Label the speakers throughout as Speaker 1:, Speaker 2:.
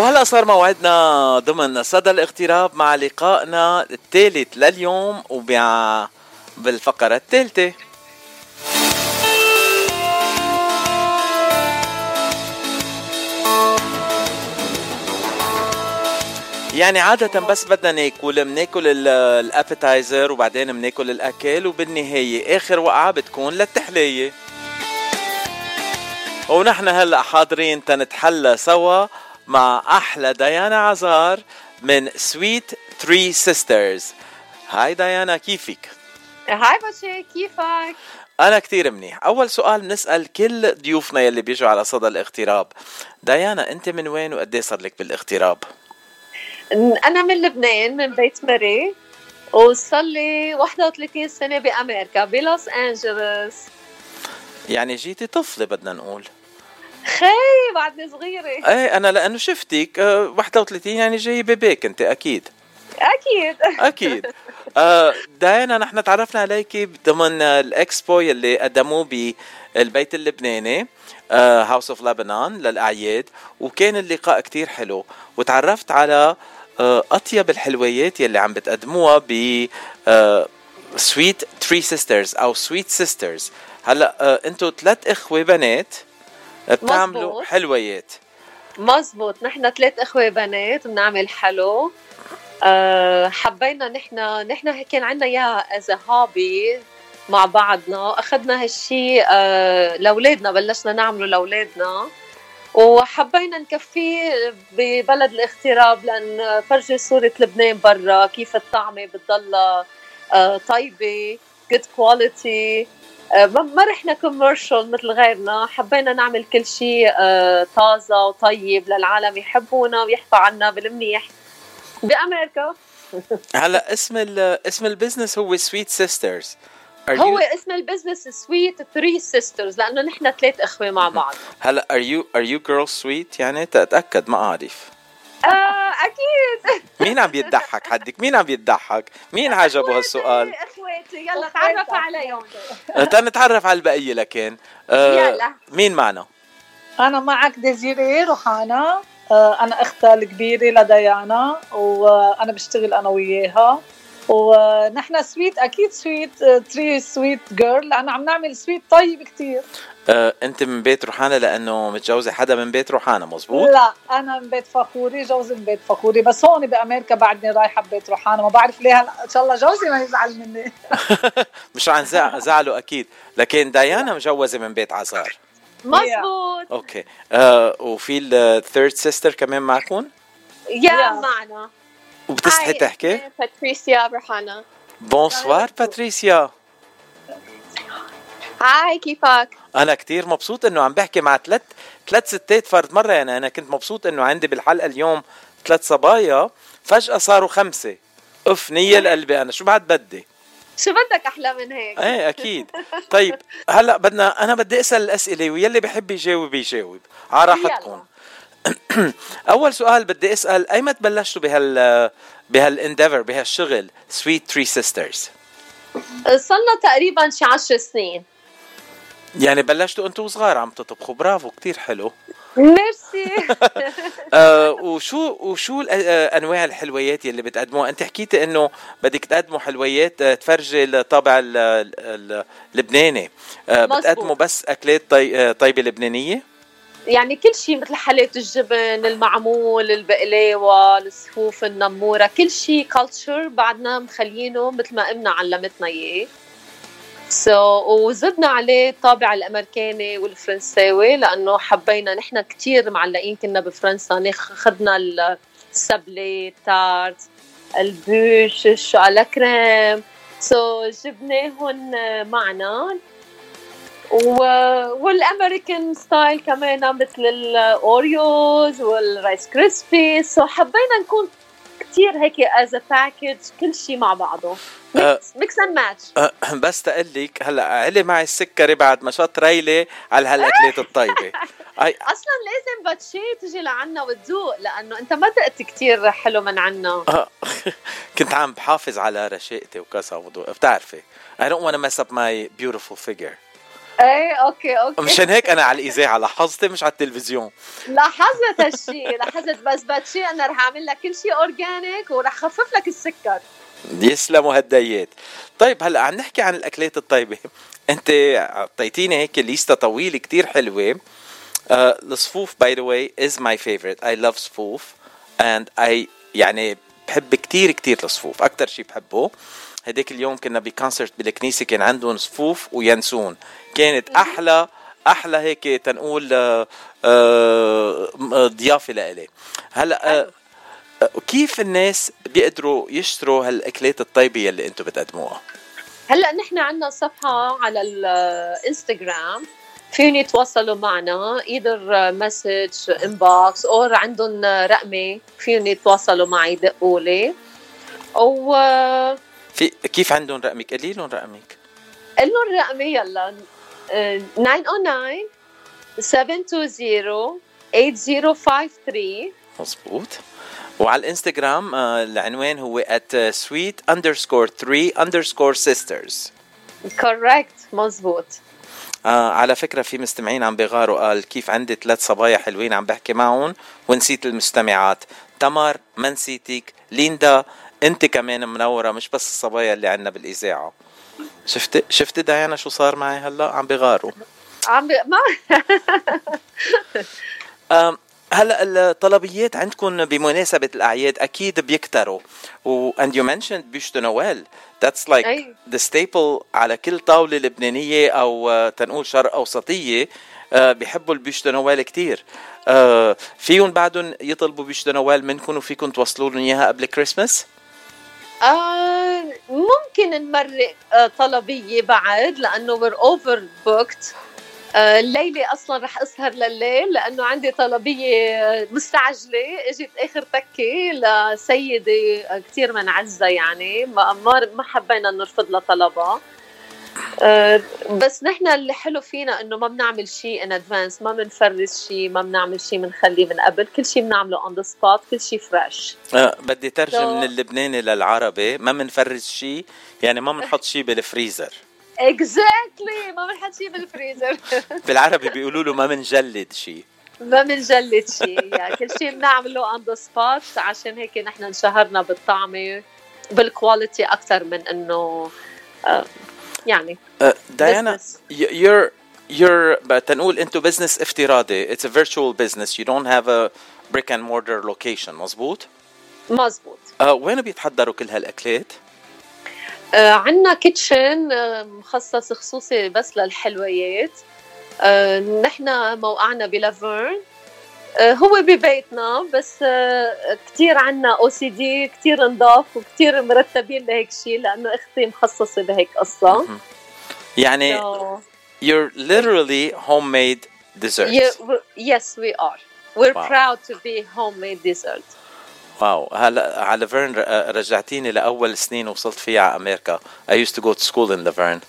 Speaker 1: وهلأ صار موعدنا ضمن صدى الاغتراب مع لقائنا الثالث لليوم بالفقرة الثالثة. يعني عادة بس بدنا بناكل الابيتايزر وبعدين بناكل الأكل وبالنهاية آخر وقعة بتكون للتحلية. ونحن هلأ حاضرين تنتحلى سوا مع أحلى ديانا عزار من سويت 3 سيسترز. هاي ديانا، كيفك؟
Speaker 2: هاي بشي، كيفك؟
Speaker 1: أنا كتير منيح. أول سؤال بنسأل كل ضيوفنا يلي بيجوا على صدى الاغتراب. ديانا، أنت من وين وقدي صار لك بالاغتراب؟
Speaker 2: أنا من لبنان، من بيت مري، وصار لي 31 سنة بأمريكا بلوس أنجلوس.
Speaker 1: يعني جيتي طفلة بدنا نقول.
Speaker 2: خي بعدني صغيرة.
Speaker 1: ايه أنا لأنه شفتك 31 يعني جاي بيبيك أنت أكيد. أكيد. داينا نحن تعرفنا عليكي ضمن الإكسبو يلي قدموه بالبيت اللبناني هاوس اوف لبنان للأعياد، وكان اللقاء كتير حلو وتعرفت على أطيب الحلويات يلي عم بتقدموها ب سويت 3 سيسترز أو سويت سيسترز. هلأ أنتوا 3 إخوة بنات بتعملوا مزبوط. حلويات
Speaker 2: مزبوط، نحن 3 إخوة بنات بنعمل حلو. حبينا نحن كان عنا إياها as a hobby مع بعضنا، أخذنا هالشي لأولادنا، بلشنا نعمله لأولادنا وحبينا نكفيه ببلد الاغتراب، لأن فرجي صورة لبنان برا كيف الطعمة بتضل طيبة good quality. ما رحنا كوميرشال مثل غيرنا، حبينا نعمل كل شيء طازة وطيب للعالم يحبونا ويحكوا عنا بالمنيح بأمريكا.
Speaker 1: هلا اسم البزنس هو سويت سيسترز.
Speaker 2: هو اسم البزنس سويت 3 سيسترز لأنه نحن 3 إخوة مع بعض.
Speaker 1: هلا are you girls sweet؟ يعني تتأكد، ما أعرف.
Speaker 2: أكيد.
Speaker 1: مين عم يضحك حدك؟ مين عم يضحك؟ مين عجبه هالسؤال؟
Speaker 2: أخواتي يلا تعرف عليهم.
Speaker 1: تنتعرف على البقية لكن
Speaker 2: يلا.
Speaker 1: مين معنا؟
Speaker 3: أنا معك ديزيري روحانا. أنا أختها الكبيرة لديانا، وأنا بشتغل أنا وياها، ونحن سويت أكيد سويت 3 سويت جيرل لأنه عم نعمل سويت طيب كتير.
Speaker 1: أنت من بيت روحانا لأنه متجوزة حدا من بيت روحانا مزبوط؟
Speaker 3: لا، أنا من بيت فخوري، جوزي من بيت فخوري، بس هون بأمريكا بعدني رايحة ببيت روحانا. ما بعرف ليه، إن شاء الله جوزي ما يزعل مني.
Speaker 1: مش عن زعله أكيد، لكن ديانا مجوزة من بيت عزار.
Speaker 2: مزبوط.
Speaker 1: أوكي. وفي الثيرد سيستر كمان معكم؟
Speaker 2: معنا.
Speaker 1: وبتستحي تحكي؟
Speaker 2: باتريسيا برهانا.
Speaker 1: بونسوار باتريسيا.
Speaker 2: هاي، كيفك؟
Speaker 1: أنا كتير مبسوط إنه عم بحكي مع ثلاث ستات فرد مرة. يعني أنا كنت مبسوط إنه عندي بالحلقة اليوم 3 صبايا، فجأة صاروا 5. نية لقلبي. أنا شو بعد بدي؟
Speaker 2: شو بدك أحلى من هيك؟
Speaker 1: ايه أكيد. طيب هلأ أنا بدي أسأل الأسئلة ويلي بحب يجاوب على راحتكم. أول سؤال بدي أسأل، أيمت بلشتوا بهالانديفر بهالشغل سويت 3 سيسترز؟
Speaker 2: صلنا تقريبا شي 10 سنين.
Speaker 1: يعني بلشتوا أنتوا صغار عم تطبخوا. برافو، كتير حلو.
Speaker 2: ميرسي.
Speaker 1: وشو أنواع الحلويات اللي بتقدموها؟ أنت حكيتي إنه بدك تقدموا حلويات تفرجي الطابع اللبناني. بتقدموا بس أكلات طيبة لبنانية؟
Speaker 2: يعني كل شيء مثل حلات الجبن، المعمول، البقلاوة، الصفوف، النمورة، كل شيء كالتشر بعدنا مخلينه مثل ما أمنا علمتنا إياه. وزدنا عليه الطابع الأمريكاني والفرنساوي لأنه حبينا. نحن كتير معلقين كنا بفرنسا، خدنا السابلي، تارت، البوش، الشوكولا كريم، جبناهن معنا. والأمريكان ستايل كمان مثل الأوريوز والرايس كريسبي. حبينا نكون كتير هيك as a package، كل شيء مع بعضه mix and match.
Speaker 1: بس تقلك هلأ علي معي السكري بعد ما شط ريلي على هالأكلات الطيبة.
Speaker 2: أصلا لازم باتشي تجي لعنا وتذوق، لأنه أنت ما دقت كتير حلو من عنا.
Speaker 1: كنت عم بحافظ على رشاقتي وكسا وضوء، بتعرفي I don't want to mess up my beautiful figure.
Speaker 2: ايه اوكي
Speaker 1: مشان هيك انا على الاذاعه لاحظت مش على التلفزيون.
Speaker 2: لاحظت هالشيء، لاحظت. بس بدشي انا رح اعمل لك كل شيء اورجانيك ورح خفف لك السكر.
Speaker 1: يسلموا هالديات. طيب هلا عم نحكي عن الاكلات الطيبه. انت اعطيتيني هيك ليسته طويله كتير حلوه. الصفوف باي ذا واي از ماي فيفورت. اي لاف صفوف اند اي يعني بحب كتير كتير الصفوف. اكتر شيء بحبه هديك اليوم كنا بكونسرت بالكنيسه كان عندهم صفوف وينسون. كانت احلى هيك تنقول ضيافه لإلي. هلا كيف الناس بيقدروا يشتروا هالاكلات الطيبه اللي انتم بتقدموها؟
Speaker 2: هلا نحن عندنا صفحه على الانستغرام، فيهم يتواصلوا معنا ايذر مسج انبوكس او عندهم رقمي فيهم يتواصلوا معي يدقوا لي. او
Speaker 1: في كيف عندهم رقمك؟ قولي لهم رقمك.
Speaker 2: قل لهم رقمي يلا 909 720 8053.
Speaker 1: مزبوط. وعلى الانستغرام العنوان هو @sweet_3_sisters.
Speaker 2: كوركت مزبوط.
Speaker 1: على فكرة في مستمعين عم بيغاروا، قال كيف عندي 3 صبايا حلوين عم بحكي معهم ونسيت المستمعات. تمر ما نسيتك، ليندا انت كمان منورة مش بس الصبايا اللي عنا بالإذاعة. شفت ديانا شو صار معي هلا؟ عم بيغاروا. هلا الطلبيات عندكم بمناسبة الأعياد أكيد بيكتروا and you mentioned بيشتو نوال. That's like the staple على كل طاولة لبنانية أو تنقول شرق أوسطية. بيحبوا البيشتو نوال كتير. فيهم بعدهم يطلبوا بيشتو نوال منكم وفيكم توصلوا لهم إياها قبل كريسمس؟
Speaker 2: ممكن نمرق طلبية بعد لأنه we're overbooked. الليلة أصلا رح أسهر لليل لأنه عندي طلبية مستعجلة اجت آخر تكة لسيدة كتير منعزة، يعني ما حبينا نرفض لها طلبها. بس نحن اللي حلو فينا إنه ما بنعمل شيء in advance، ما بنفرز شيء، ما بنعمل شيء بنخليه من قبل، كل شيء بنعمله on the spot، كل شيء فريش.
Speaker 1: بدي ترجم من اللبناني للعربي. ما بنفرز شيء يعني ما بنحط شيء بالفريزر.
Speaker 2: exactly ما بنحط شيء بالفريزر.
Speaker 1: بالعربي بيقولوا له ما بنجلد شيء.
Speaker 2: ما بنجلد شيء يعني كل شيء بنعمله on the spot. عشان هيك نحن انشهرنا بالطعمة بالكواليتي أكثر من إنه يعني
Speaker 1: ديانا you're تنقول أنتو business افتراضي. It's a virtual business. You don't have a brick and mortar location. مزبوط؟
Speaker 2: مزبوط.
Speaker 1: وين بيتحضروا كل هالأكلات؟
Speaker 2: عنا كيتشن مخصص خصوصي بس للحلويات. نحن موقعنا بلافيرن. هو ببيتنا بس كتير عنا OCD كتير نضاف وكتير مرتبين لهيك شيء لأنه أختي مخصصة بهيك قصة.
Speaker 1: يعني you're literally homemade desserts.
Speaker 2: Yes we are. We're proud to be homemade dessert.
Speaker 1: واو. هلا على لافيرن رجعتيني لأول سنين وصلت فيها على أمريكا. I used to go to school in Laverne.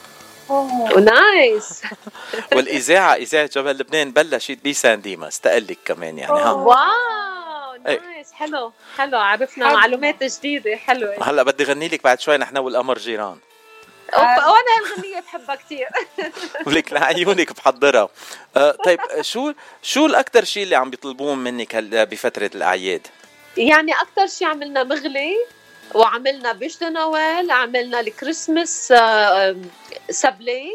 Speaker 2: نايس.
Speaker 1: والإذاعة إذاعة جبل لبنان بلشت بسان ديماس تقلك كمان يعني.
Speaker 2: واو نايس. حلو عرفنا معلومات جديدة حلوة.
Speaker 1: هلا بدي غني لك بعد شوي نحن والقمر جيران.
Speaker 2: وانا هالغنية بحبها كتير.
Speaker 1: ولك لعيونك بحضرها. طيب شو الأكتر شيء اللي عم بيطلبون منك بفترة الأعياد؟
Speaker 2: يعني أكتر شيء عملنا مغلي وعملنا بيشتو نوال، عملنا الكريسماس سبلي،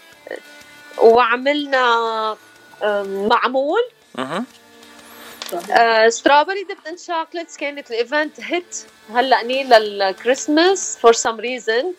Speaker 2: وعملنا معمول سترابري ديبت ان شوكليتس. كانت الايفنت هيت هلا للكريسماس فور سم ريزن.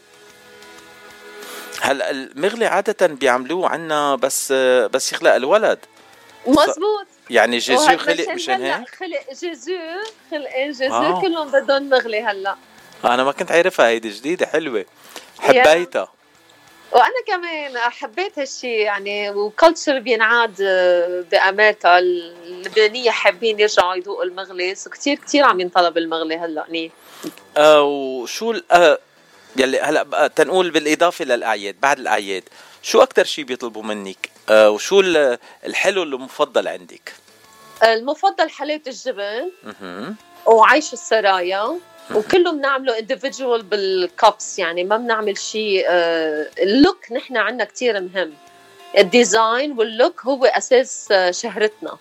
Speaker 1: هلا المغلي عادة بيعملوه عنا بس يخلق الولد.
Speaker 2: مزبوط.
Speaker 1: يعني جيزو خلق مشان هيك.
Speaker 2: خلق جيزو كلهم بدهم مغلي هلا.
Speaker 1: انا ما كنت عارفها، هيدي جديدة حلوة حبيتها.
Speaker 2: وانا كمان حبيت هالشي يعني. وكالتشر بينعاد بامريكا اللبنانية حابين يرجعوا يذوقوا المغلي. كتير عم ينطلب المغلي هلا.
Speaker 1: وشو يلي هلا تنقول بالاضافة للاعياد بعد الاعياد شو اكتر شيء بيطلبوا منك؟ وشو الحلو اللي مفضل عندك؟
Speaker 2: المفضل حلاوة الجبن وعيش السرايا. وكله بنعمله individual بالكابس، يعني ما بنعمل شيء اللوك. نحن عنا كتير مهم الديزاين واللوك هو أساس شهرتنا.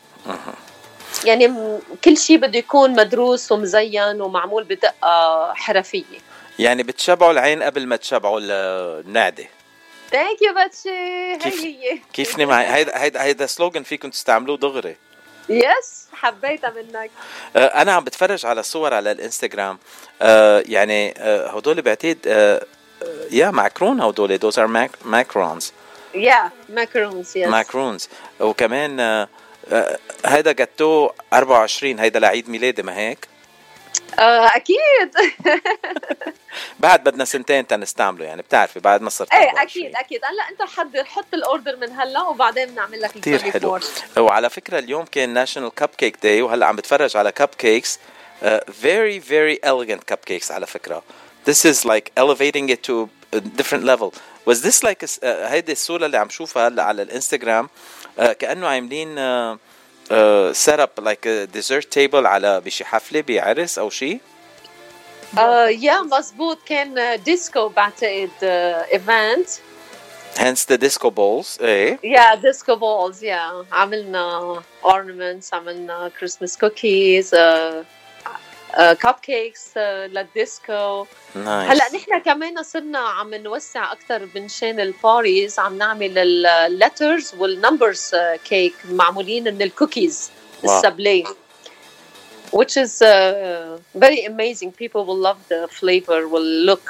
Speaker 2: يعني كل شيء بده يكون مدروس ومزين ومعمول بدقة حرفية.
Speaker 1: يعني بتشبعوا العين قبل ما تشبعوا النعدة.
Speaker 2: ثانك يو باتشي.
Speaker 1: كيفني معي هيدا سلوغن فيكم تستعملوه دغري.
Speaker 2: يس حبيتها منك.
Speaker 1: انا عم بتفرج على صور على الانستغرام. يعني هدول بعتقد يا ماكرون، هدول those are macarons.
Speaker 2: macarons. yes
Speaker 1: macarons. وكمان هيدا جاتو 24 هيدا لعيد ميلادي، ما هيك؟
Speaker 2: اكيد.
Speaker 1: بعد بدنا سنتين تنستعمله، يعني بتعرفي بعد ما صرت.
Speaker 2: ايه اكيد هلا انت حط الاوردر من هلا وبعدين بنعمل لك
Speaker 1: كتير حلو. وعلى فكره اليوم كان ناشونال كب كيك داي، وهلا عم بتفرج على كب كيكس very very elegant cupcakes على فكره. This is like elevating it to a different level. Was this like هيدي الصوره اللي عم شوفها هلا على الانستغرام كانه عاملين set up like a dessert table على بشي حفله بعرس او شيء؟
Speaker 2: يا مزبوط، كان ديسكو بعتقد ايفنت.
Speaker 1: hence the disco balls. ايه
Speaker 2: disco balls. عملنا ornaments، عملنا Christmas cookies، cupcakes للديسكو. هلا نحن كمان صرنا عم نوسع اكثر من الباريز، عم نعمل اللترز والنمبرز كيك معمولين من الكوكيز السابلي which is very amazing. People will love the flavor والlook.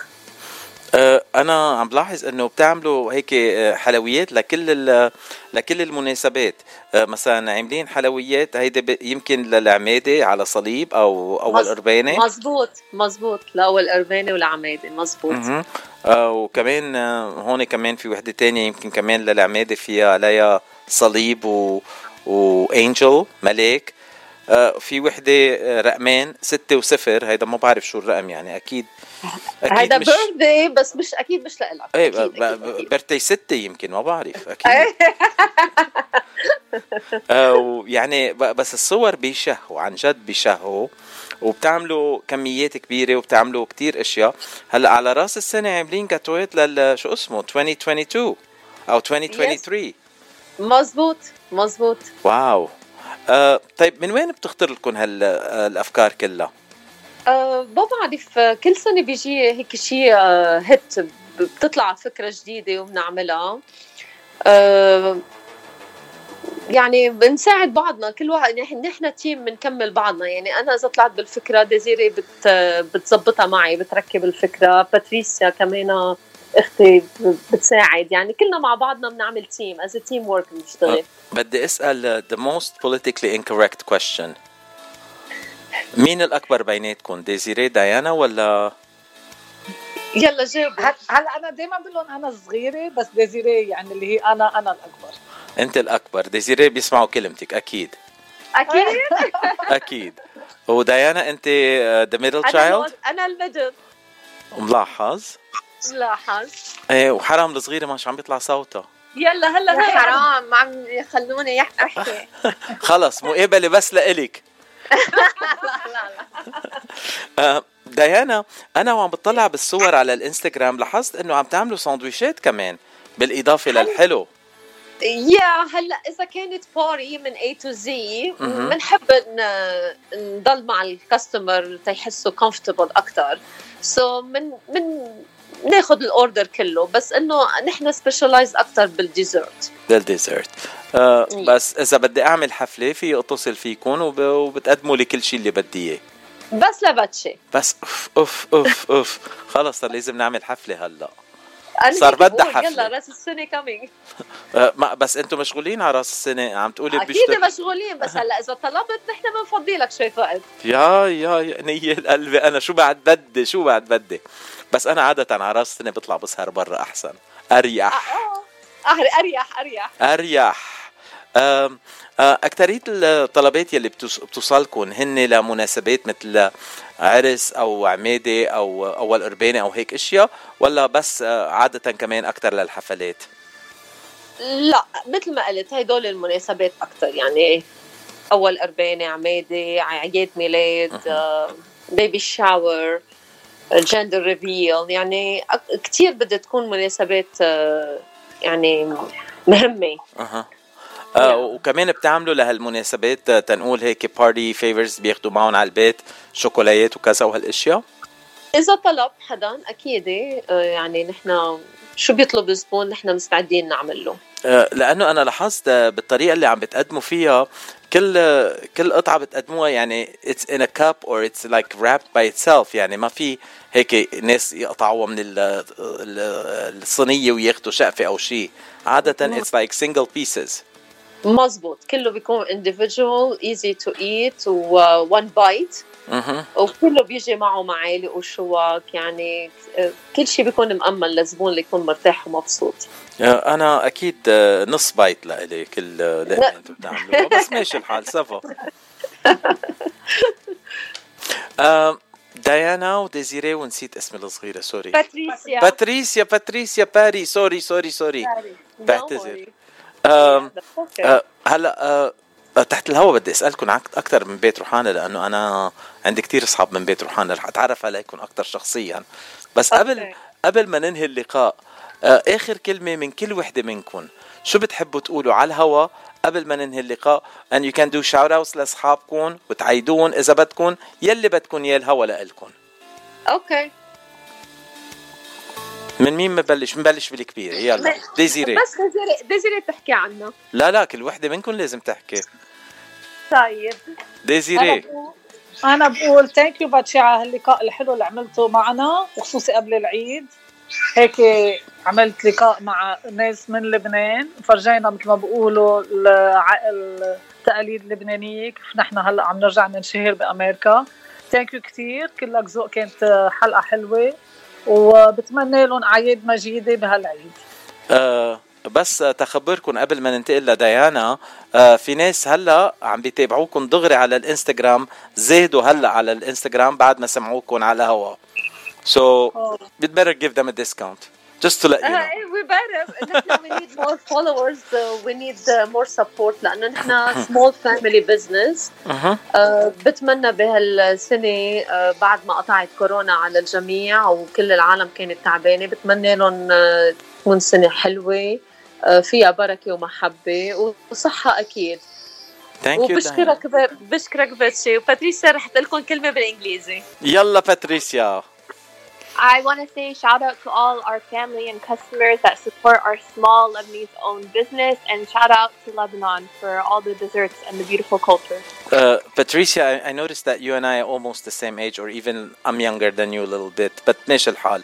Speaker 1: أنا عم بلاحظ إنه بتعملوا هيك حلويات لكل المناسبات. مثلا عاملين حلويات هيدا يمكن للعمادة على صليب أو القربانة.
Speaker 2: مزبوط لأول قربانة والعمادة. مزبوط.
Speaker 1: وكمان هون كمان في وحدة تانية يمكن كمان للعمادة فيها عليها صليب وانجل ملاك. في وحدة رقمين 6 و0. هيدا ما بعرف شو الرقم، يعني أكيد
Speaker 2: هيدا بيرثدي، بس مش أكيد مش لإلك.
Speaker 1: ايه بيرثدي 6 يمكن، ما بعرف أكيد. يعني بس الصور بيشهوا عن جد بيشهوا، وبتعملوا كميات كبيرة وبتعملوا كتير أشياء. هلأ على رأس السنة عاملين جاتوات شو اسمه 2022 أو 2023.
Speaker 2: مزبوط.
Speaker 1: واو. طيب من وين بتخطر لكم هالأفكار كلها؟
Speaker 2: ما بعرف، كل سنة بيجي هيك شيء هيت، بتطلع فكرة جديدة وبنعملها. يعني بنساعد بعضنا، كل واحد نحن تيم بنكمل بعضنا. يعني أنا إذا طلعت بالفكرة ديزيري بتزبطها معي، بتركب الفكرة. باتريسيا كمان اختي بتساعد. يعني كلنا مع بعضنا بنعمل تيم as a team work بنشتغل.
Speaker 1: بدي أسأل the most politically incorrect question. مين الأكبر بيناتكم، ديزيري ديانا ولا؟
Speaker 2: يلا جاوب.
Speaker 3: هلا أنا دايما بقول لهم أنا صغيرة، بس ديزيري يعني اللي هي أنا الأكبر.
Speaker 1: أنت الأكبر. ديزيري بيسمعوا كلمتك أكيد. أكيد. وديانا أنت the middle child.
Speaker 2: أنا الميدل.
Speaker 1: ملاحظ. ايه، وحرام الصغيرة مش عم بيطلع صوتها.
Speaker 2: يلا هلا حرام، ما عم يخلوني احكي.
Speaker 1: خلص مقابلة بس لإلك. ديانا، أنا وعم بطلع بالصور على الانستغرام لاحظت إنه عم تعملوا ساندويشات كمان بالإضافة للحلو.
Speaker 2: هلا إذا كانت باري من A to Z بنحب نضل مع الكاستمر تيحسوا comfortable أكتر. من ناخد الأوردر كله، بس إنه نحن سبيشالايز أكتر بالديزرت.
Speaker 1: بس إذا بدي أعمل حفلة في أتصل فيكم وبتقدموا لي كل شيء اللي بدي إياه.
Speaker 2: بس لبتشي.
Speaker 1: بس أوف خلص لازم نعمل حفلة هلا. صار بدها حفلة.
Speaker 2: يلا راس السنة كامينج.
Speaker 1: بس انتم مشغولين على راس السنة عم تقولي
Speaker 2: اكيد مشغولين، بس هلا اذا طلبت نحن بنفضي لك شوي وقت.
Speaker 1: يا نية القلب، انا شو بعد بدي بس انا عادة على راس السنة بطلع بسهر برا احسن، اريح. اريح. اكترية الطلبات يلي بتوصلكن هن لمناسبات مثل عرس او عمادة او اول قربانة او هيك اشياء، ولا بس عادة كمان اكتر للحفلات؟
Speaker 2: لا مثل ما قلت هيدول المناسبات اكتر، يعني اول قربانة، عمادة، عياد ميلاد، بيبي شاور، جندر ريفيل. يعني كتير بدها تكون مناسبات يعني مهمة.
Speaker 1: وكمان بتعملوا لهالمناسبات تنقول هيك بارتي فيفرز بياخدوا معهم على البيت شوكولاتات وكذا وهالاشياء؟
Speaker 2: إذا طلب حدا أكيد يعني نحن شو بيطلب الزبون نحن مستعدين نعمل له.
Speaker 1: لأنه أنا لاحظت بالطريقة اللي عم بتقدموا فيها كل قطعة بتقدموها يعني it's in a cup or it's like wrapped by itself، يعني ما في هيك ناس يقطعوها من الصينية وياخدوا شقفة أو شيء. عادة it's like single pieces.
Speaker 2: مزبوط، كله بيكون individual easy to eat و one bite. وكله بيجي معه معالق وشوك، يعني كل شيء بيكون مأمن للزبون اللي يكون مرتاح ومبسوط.
Speaker 1: أنا أكيد نص بايت لإلي كل لقمة أنتم بتعملوها، بس ماشي الحال سافا. ديانا وديزيري ونسيت اسم الصغيرة، سوري. باتريسيا باري، سوري بعتذر. هلا تحت الهوا بدي أسألكم أكثر من بيت روحانا، لأنه أنا عندي كتير أصحاب من بيت روحانا رح أتعرف عليكم أكثر شخصيا. بس قبل ما ننهي اللقاء، آخر كلمة من كل وحدة منكم شو بتحبوا تقولوا على الهوا قبل ما ننهي اللقاء؟ and you can do shout outs لأصحابكم وتعيدون إذا بدكم يلي بدكم يا الهوا لألكم.
Speaker 2: أوكي،
Speaker 1: من مين نبلش بالكبير؟ يلا ديزيري.
Speaker 2: بس ديزيري تحكي عنه.
Speaker 1: لا كل وحدة منكم لازم تحكي.
Speaker 2: طيب
Speaker 1: ديزيري.
Speaker 3: أنا بقول ثانك يو باتشي على هاللقاء الحلو اللي عملته معنا، وخصوصي قبل العيد. هيك عملت لقاء مع ناس من لبنان، فرجينا مثل ما بقولوا التقاليد اللبنانية كيف نحن هلأ عم نرجع ننشهر بأمريكا. ثانك يو كتير، كلك ذوق، كانت حلقة حلوة وبتمنى لهم أعياد مجيدة بهالعيد.
Speaker 1: بس تخبركم قبل ما ننتقل لديانا، في ناس هلا عم بيتابعوكم دغري على الانستغرام، زادوا هلا على الانستغرام بعد ما سمعوكم على الهوا. So we'd better give them a discount just to let you know.
Speaker 2: We better. We need more followers. We need more support لأنه نحن small family business. بتمنى بهالسنة بعد ما قطعت كورونا على الجميع وكل العالم كانت تعبانة، بتمنى لهم تكون سنة حلوة فيها بركة ومحبة وصحة أكيد. وبشكرك باتشي. وباتريسيا رح تقول لكم كلمة بالإنجليزي.
Speaker 1: يلا باتريسيا.
Speaker 4: I want to say shout out to all our family and customers that support our small Lebanese-owned business, and shout out to Lebanon for all the desserts and the beautiful culture.
Speaker 1: Patricia, I noticed that you and I are almost the same age, or even I'm younger than you a little bit, but ماشي الحال.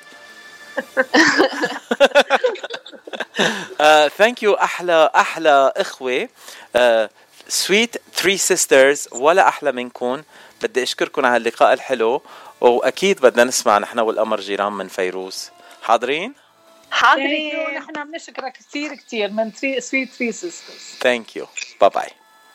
Speaker 1: Thank you. أحلى إخوة. Sweet Three Sisters، ولا أحلى منكم. بدي أشكركم على اللقاء الحلو، وأكيد بدنا نسمع نحن والقمر جيران من فيروز. حاضرين؟
Speaker 3: نحن بنشكرك كتير من Sweet Three Sisters.
Speaker 1: Thank you. Bye bye.